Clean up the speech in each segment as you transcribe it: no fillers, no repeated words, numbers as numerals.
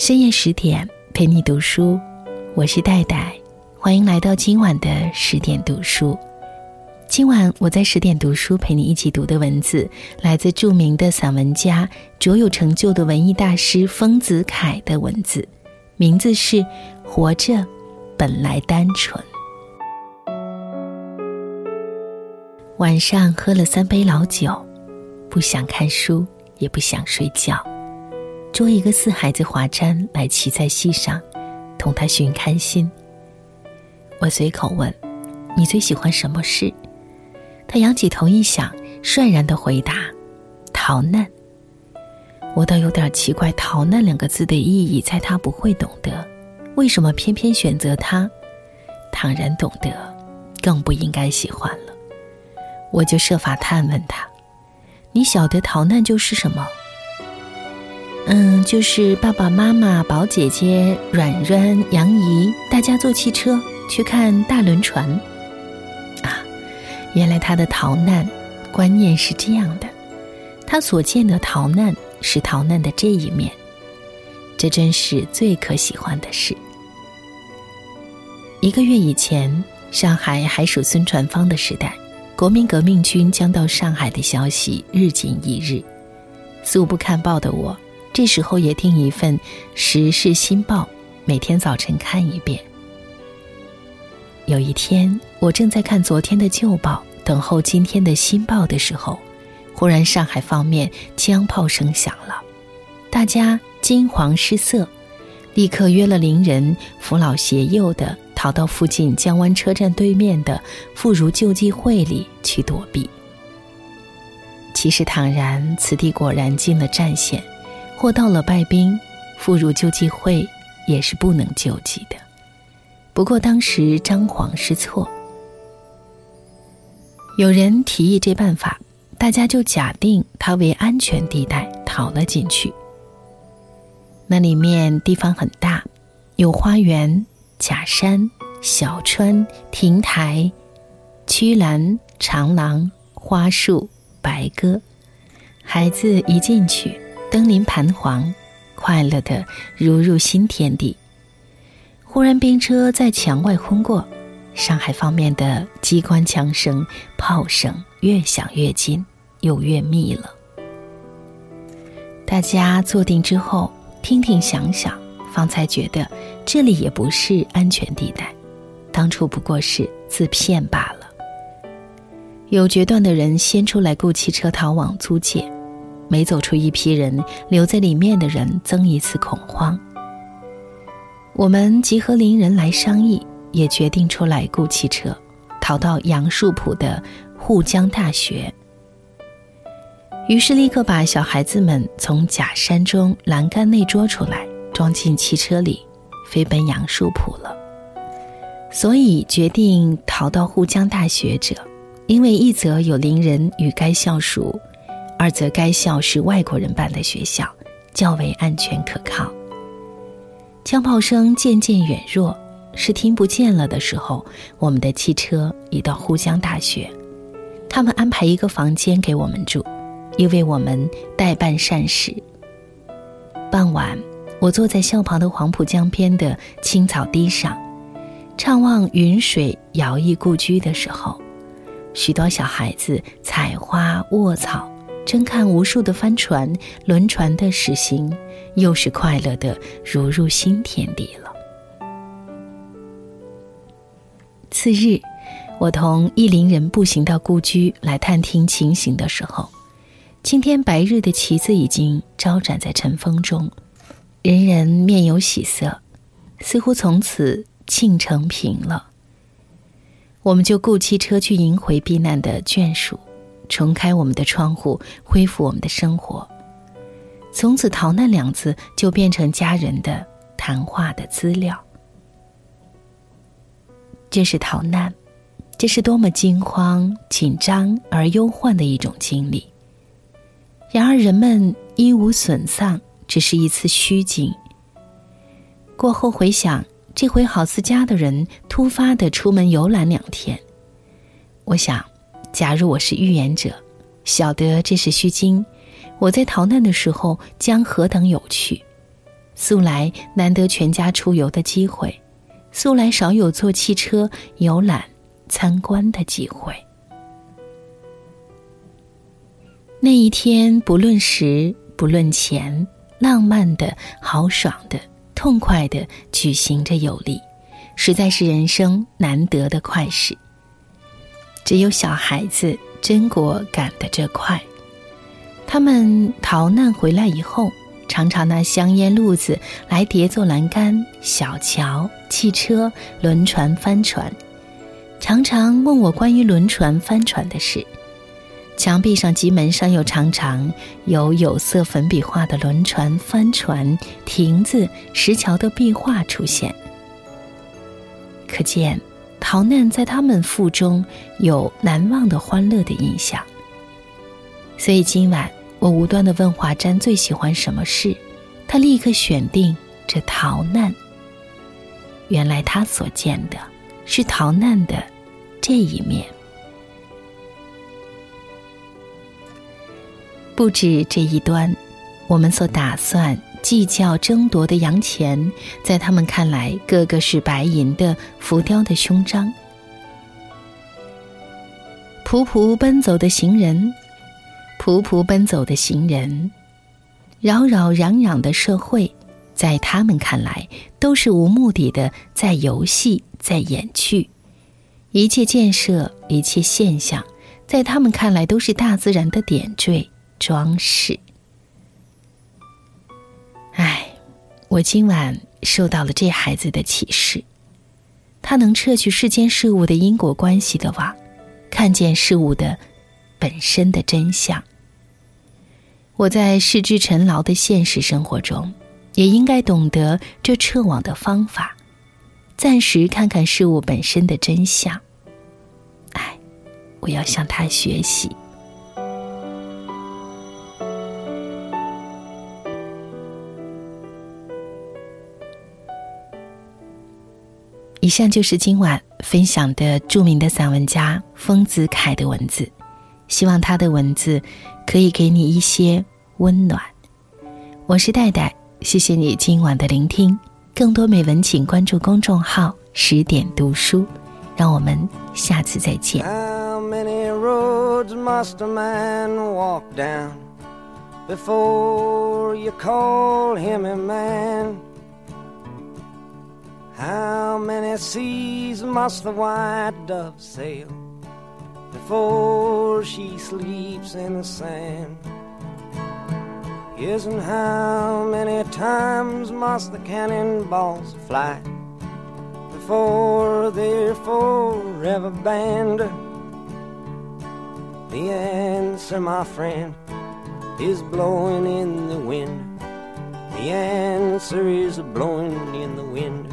深夜10点陪你读书，我是戴戴，欢迎来到今晚的10点读书。今晚我在10点读书陪你一起读的文字，来自著名的散文家、卓有成就的文艺大师丰子恺的文字，名字是《活着本来单纯》。晚上喝了3杯老酒，不想看书，也不想睡觉，捉一个4孩子华瞻来骑在膝上，同他寻开心。我随口问，你最喜欢什么事？他仰起头一想，率然地回答，逃难。我倒有点奇怪，逃难2个字的意义在他不会懂得，为什么偏偏选择他？倘然懂得，更不应该喜欢了。我就设法探问他，你晓得逃难就是什么？就是爸爸妈妈、宝姐姐、软软、杨姨，大家坐汽车去看大轮船。原来他的逃难观念是这样的，他所见的逃难是逃难的这一面，这真是最可喜欢的事。1个月以前，上海还属孙传芳的时代，国民革命军将到上海的消息日紧一日。素不看报的我，这时候也订一份《时事新报》，每天早晨看一遍。有一天，我正在看昨天的旧报，等候今天的新报的时候，忽然上海方面枪炮声响了，大家惊惶失色，立刻约了邻人，扶老携幼的逃到附近江湾车站对面的妇孺救济会里去躲避。其实倘然此地果然进了战线，或到了败兵，妇孺救济会也是不能救济的。不过当时张皇失措，有人提议这办法，大家就假定它为安全地带，逃了进去。那里面地方很大，有花园、假山、小川、亭台、曲栏、长廊、花树、白鸽。孩子一进去，灯林盘黄，快乐的如入新天地。忽然兵车在墙外轰过，上海方面的机关枪声、炮声越响越近，又越密了。大家坐定之后，听听想想，方才觉得这里也不是安全地带，当初不过是自骗罢了。有决断的人先出来雇汽车逃往租界，每走出一批人，留在里面的人增一次恐慌。我们集合邻人来商议，也决定出来雇汽车，逃到杨树浦的沪江大学。于是立刻把小孩子们从假山中栏杆内捉出来，装进汽车里，飞奔杨树浦了。所以决定逃到沪江大学者，因为一则有邻人与该校熟，二则该校是外国人办的学校，较为安全可靠。枪炮声渐渐远弱，是听不见了的时候，我们的汽车已到沪江大学。他们安排一个房间给我们住，又为我们代办膳食。傍晚，我坐在校旁的黄浦江边的青草地上，怅望云水摇曳故居的时候，许多小孩子采花卧草，正看无数的帆船、轮船的驶行，又是快乐的如入新天地了。次日，我同一邻人步行到故居来探听情形的时候，青天白日的旗子已经招展在晨风中，人人面有喜色，似乎从此庆成平了。我们就雇汽车去迎回避难的眷属，重开我们的窗户，恢复我们的生活。从此逃难2字就变成家人的谈话的资料。这是逃难，这是多么惊慌、紧张而忧患的一种经历。然而人们一无损丧，只是一次虚惊。过后回想，这回好似家的人突发地出门游览2天。我想，假如我是预言者，晓得这是虚惊，我在逃难的时候将何等有趣。 素来难得全家出游的机会，素来少有坐汽车游览参观的机会。那一天不论时不论钱，浪漫的、豪爽的、痛快的举行着游历，实在是人生难得的快事。只有小孩子真果赶得这快。他们逃难回来以后，常常拿香烟路子来叠做栏杆、小桥、汽车、轮船、帆船，常常问我关于轮船、帆船的事。墙壁上及门上又常常有色粉笔画的轮船、帆船、亭子、石桥的壁画出现。可见逃难在他们腹中有难忘的欢乐的印象。所以今晚我无端地问华瞻最喜欢什么事，他立刻选定这逃难。原来他所见的是逃难的这一面。不止这一端，我们所打算计较争夺的洋钱，在他们看来个个是白银的浮雕的胸章。仆仆奔走的行人，仆仆奔走的行人，扰扰攘攘的社会，在他们看来都是无目的的在游戏，在演趣。一切建设，一切现象，在他们看来都是大自然的点缀装饰。我今晚受到了这孩子的启示，他能撤去世间事物的因果关系的网，看见事物的本身的真相。我在世之尘劳的现实生活中，也应该懂得这撤网的方法，暂时看看事物本身的真相。我要向他学习。以上就是今晚分享的著名的散文家丰子恺的文字，希望他的文字可以给你一些温暖。我是戴戴，谢谢你今晚的聆听。更多美文请关注公众号10点读书，让我们下次再见。 How many roads must a man walk down before you call him a man?How many seas must the white dove sail before she sleeps in the sand? Yes, and how many times must the cannonballs fly before they're forever banned? The answer, my friend, is blowing in the wind. The answer is blowing in the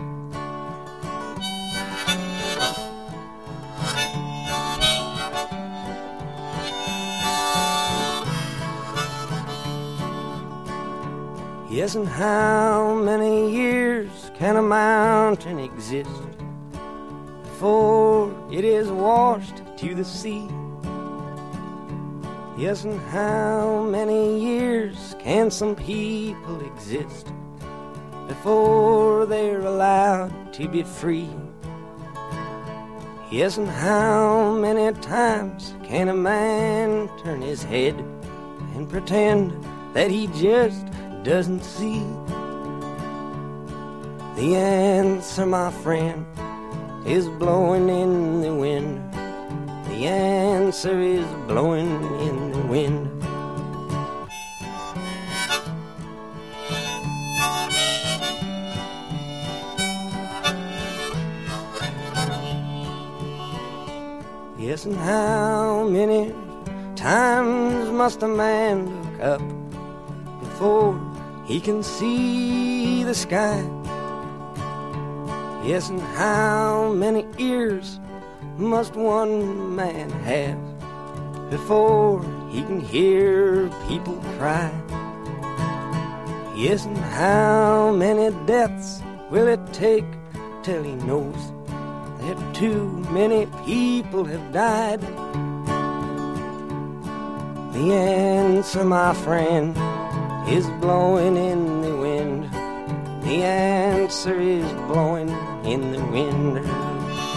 wind.Yes, and how many years can a mountain exist before it is washed to the sea? Yes, and how many years can some people exist before they're allowed to be free? Yes, and how many times can a man turn his head and pretend that he just doesn't see? The answer, my friend, is blowing in the wind. The answer is blowing in the wind. Yes, and how many times must a man look up before he can see the sky? Yes, and how many ears must one man have before he can hear people cry? Yes, and how many deaths will it take till he knows that too many people have died? The answer, my friend, is blowing in the wind. The answer is blowing in the wind.